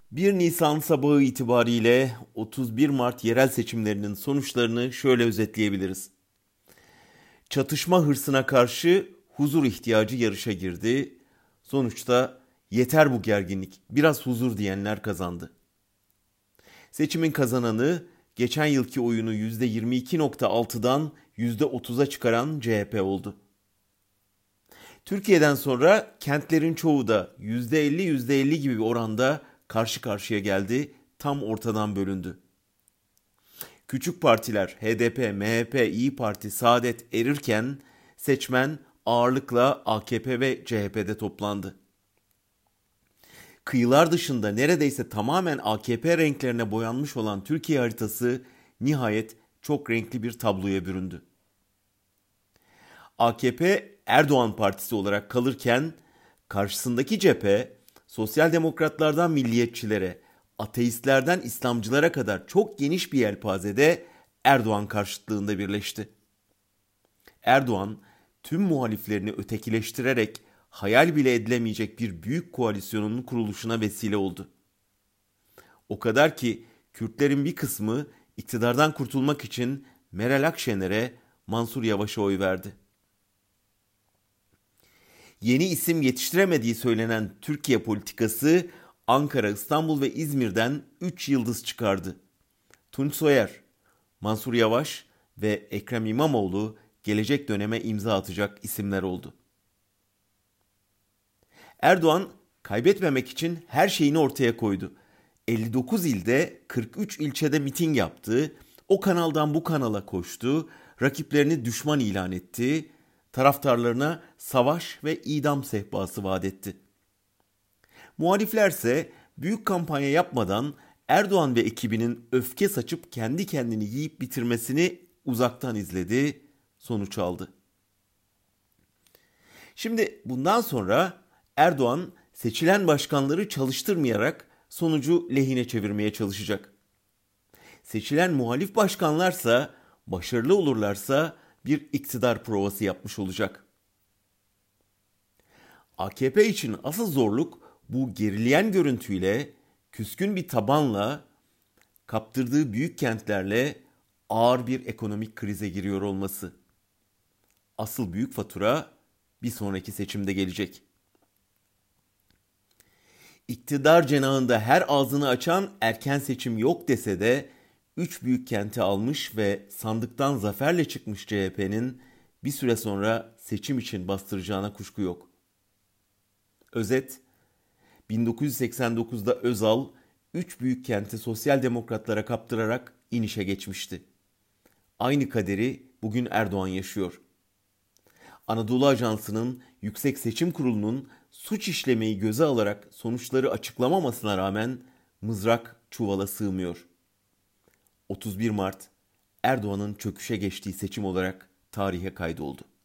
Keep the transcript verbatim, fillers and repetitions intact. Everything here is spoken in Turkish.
bir Nisan sabahı itibariyle otuz bir Mart yerel seçimlerinin sonuçlarını şöyle özetleyebiliriz. Çatışma hırsına karşı huzur ihtiyacı yarışa girdi. Sonuçta yeter bu gerginlik, biraz huzur diyenler kazandı. Seçimin kazananı geçen yılki oyunu yüzde yirmi iki virgül altıdan yüzde otuza çıkaran C H P oldu. Türkiye'den sonra kentlerin çoğu da yüzde elli yüzde elli gibi bir oranda karşı karşıya geldi, tam ortadan bölündü. Küçük partiler H D P, M H P, İyi Parti, Saadet erirken seçmen ağırlıkla A K P ve C H P'de toplandı. Kıyılar dışında neredeyse tamamen A K P renklerine boyanmış olan Türkiye haritası nihayet çok renkli bir tabloya büründü. A K P Erdoğan Partisi olarak kalırken karşısındaki cephe sosyal demokratlardan milliyetçilere, ateistlerden İslamcılara kadar çok geniş bir yelpazede Erdoğan karşıtlığında birleşti. Erdoğan tüm muhaliflerini ötekileştirerek hayal bile edilemeyecek bir büyük koalisyonun kuruluşuna vesile oldu. O kadar ki Kürtlerin bir kısmı iktidardan kurtulmak için Meral Akşener'e, Mansur Yavaş'a oy verdi. Yeni isim yetiştiremediği söylenen Türkiye politikası Ankara, İstanbul ve İzmir'den üç yıldız çıkardı. Tunç Soyer, Mansur Yavaş ve Ekrem İmamoğlu gelecek döneme imza atacak isimler oldu. Erdoğan kaybetmemek için her şeyini ortaya koydu. elli dokuz ilde kırk üç ilçede miting yaptı, o kanaldan bu kanala koştu, rakiplerini düşman ilan etti, taraftarlarına savaş ve idam sehpası vaat etti. Muhaliflerse büyük kampanya yapmadan Erdoğan ve ekibinin öfke saçıp kendi kendini yiyip bitirmesini uzaktan izledi, sonuç aldı. Şimdi bundan sonra Erdoğan seçilen başkanları çalıştırmayarak sonucu lehine çevirmeye çalışacak. Seçilen muhalif başkanlarsa başarılı olurlarsa bir iktidar provası yapmış olacak. A K P için asıl zorluk bu gerileyen görüntüyle, küskün bir tabanla, kaptırdığı büyük kentlerle ağır bir ekonomik krize giriyor olması. Asıl büyük fatura bir sonraki seçimde gelecek. İktidar cenahında her ağzını açan erken seçim yok dese de üç büyük kenti almış ve sandıktan zaferle çıkmış C H P'nin bir süre sonra seçim için bastıracağına kuşku yok. Özet, bin dokuz yüz seksen dokuzda Özal üç büyük kenti sosyal demokratlara kaptırarak inişe geçmişti. Aynı kaderi bugün Erdoğan yaşıyor. Anadolu Ajansı'nın Yüksek Seçim Kurulu'nun suç işlemeyi göze alarak sonuçları açıklamamasına rağmen mızrak çuvala sığmıyor. otuz bir Mart Erdoğan'ın çöküşe geçtiği seçim olarak tarihe kaydoldu.